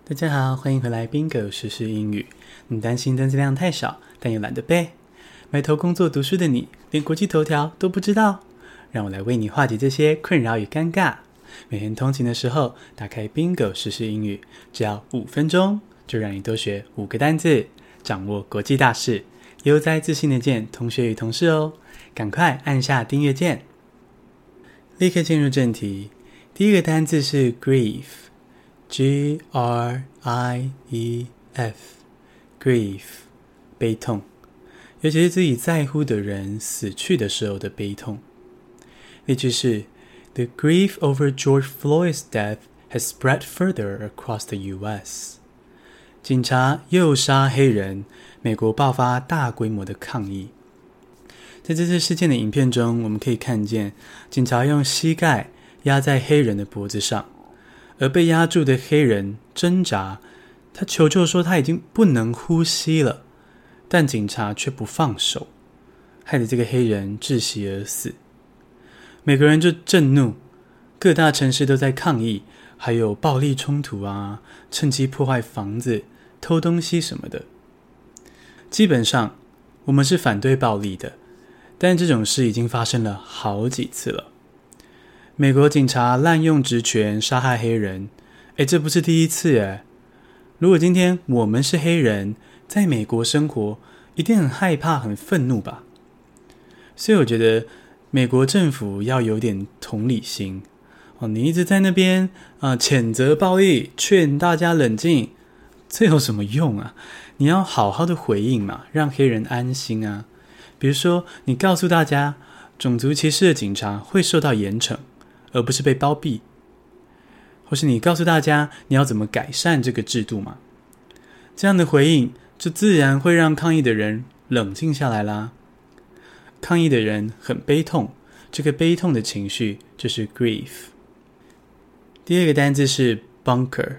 大家好，歡迎回來 Bingo 時事英語。你擔心單詞量太少，但又懶得背，埋頭工作讀書的你，連國際頭條都不知道？讓我來為你化解這些困擾與尷尬。每天通勤的時候，打開 Bingo 時事英語，只要5分鐘，就讓你多學5個單字，掌握國際大事，悠哉自信的見同學與同事哦。趕快按下訂閱鍵。立刻進入正題，第一個單字是 grief。Grief， grief， 悲痛，尤其是自己在乎的人死去的時候的悲痛。例句是 The grief over George Floyd's death has spread further across the U.S. 警察又殺黑人，美國爆發大規模的抗議。在這次事件的影片中，我們可以看見警察用膝蓋壓在黑人的脖子上，而被壓住的黑人掙扎，他求救說他已經不能呼吸了，但警察卻不放手，害得這個黑人窒息而死。美國人就震怒，各大城市都在抗議，還有暴力衝突啊，趁機破壞房子、偷東西什麼的。基本上，我們是反對暴力的，但這種事已經發生了好幾次了。美國警察濫用職權殺害黑人，這不是第一次耶。如果今天我們是黑人，在美國生活，一定很害怕、很憤怒吧？所以我覺得美國政府要有點同理心。你一直在那邊譴責暴力，勸大家冷靜，這有什麼用啊？你要好好的回應嘛，讓黑人安心啊。比如說，你告訴大家，種族歧視的警察會受到嚴懲，而不是被包庇，或是你告訴大家你要怎麼改善這個制度嘛？這樣的回應就自然會讓抗議的人冷靜下來啦。抗議的人很悲痛，這個悲痛的情緒就是 grief。第二個單字是 bunker，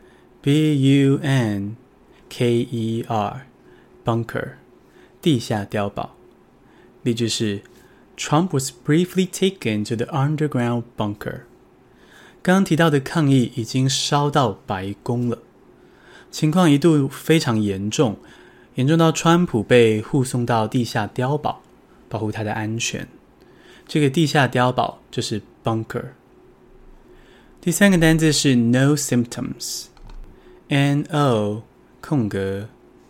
B-U-N-K-E-R， bunker， 地下碉堡。例句是Trump was briefly taken to the underground bunker. 剛剛提到的抗議已經燒到白宮了，情況一度非常嚴重，嚴重到川普被護送到地下碉堡，保護他的安全。這個地下碉堡就是 bunker。第三個單字是 no symptoms， N-O 空格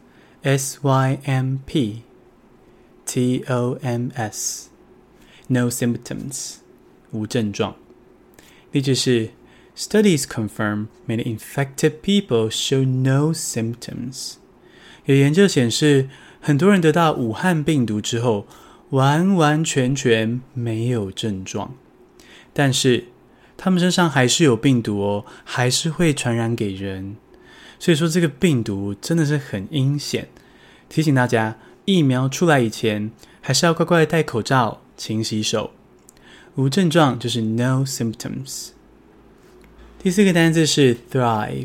S-Y-M-P-T-O-M-S。No symptoms， 無症狀。例句是 Studies confirm many infected people show no symptoms。 有研究顯示，很多人得到武漢病毒之後，完完全全沒有症狀，但是他們身上還是有病毒哦，還是會傳染給人。所以說這個病毒真的是很陰險，提醒大家，疫苗出來以前，還是要乖乖戴口罩，勤洗手。無症狀就是 no symptoms。 第四個單字是 thrive，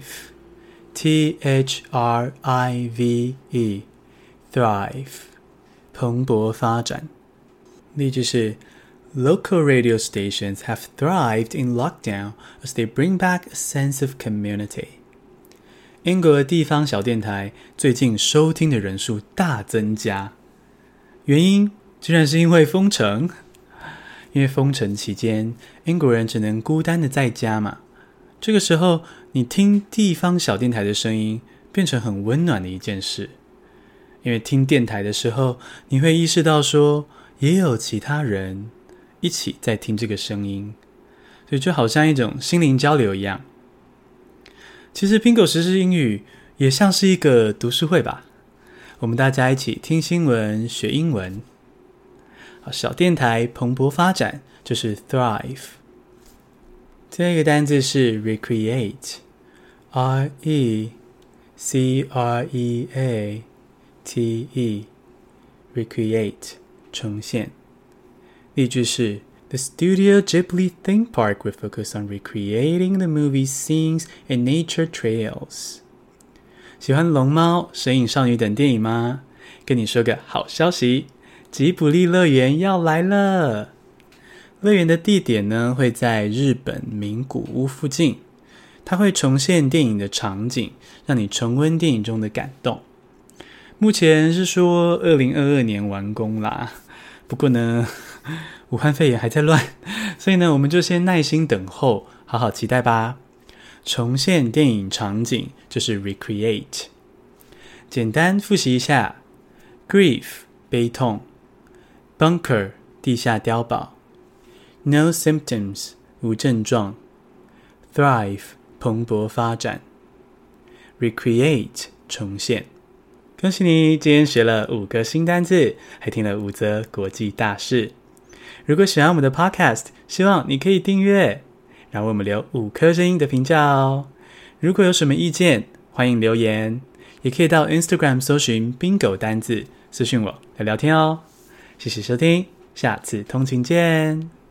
T-H-R-I-V-E， thrive， 蓬勃發展。例句是 Local radio stations have thrived in lockdown as they bring back a sense of community。 英國的地方小電台最近收聽的人數大增加，原因居然是因為封城。因為封城期間，英國人只能孤單的在家嘛。這個時候，你聽地方小電台的聲音，變成很溫暖的一件事。因為聽電台的時候，你會意識到說，也有其他人一起在聽這個聲音，所以就好像一種心靈交流一樣。其實 Bingo 時事英語也像是一個讀書會吧，我們大家一起聽新聞學英文。小電台蓬勃發展就是 thrive。 第二個單字是 recreate， R-E-C-R-E-A-T-E， recreate， 重現。例句是 The Studio Ghibli theme park will focus on recreating the movie's scenes and nature trails。 喜歡龍貓、神隱少女等電影嗎？跟你說個好消息，吉卜力樂園要來了。樂園的地點呢，會在日本名古屋附近， 它會重現電影的場景，讓你重溫電影中的感動。目前是說2022年完工啦，不過呢，武漢肺炎還在亂，所以呢，我們就先耐心等候，好好期待吧。重現電影場景就是 recreate。簡單複習一下 ：grief 悲痛 ，bunker 地下碉堡 ，no symptoms 無症狀 ，thrive 蓬勃發展 ，recreate 重現。恭喜你，今天學了5個新單字，還聽了5則國際大事。如果喜歡我們的 podcast， 希望你可以訂閱，然後為我們留5顆星的評價哦。如果有什麼意見，歡迎留言，也可以到 Instagram 搜尋 Bingo 單字，私訊我來聊天哦。謝謝收聽，下次通勤見。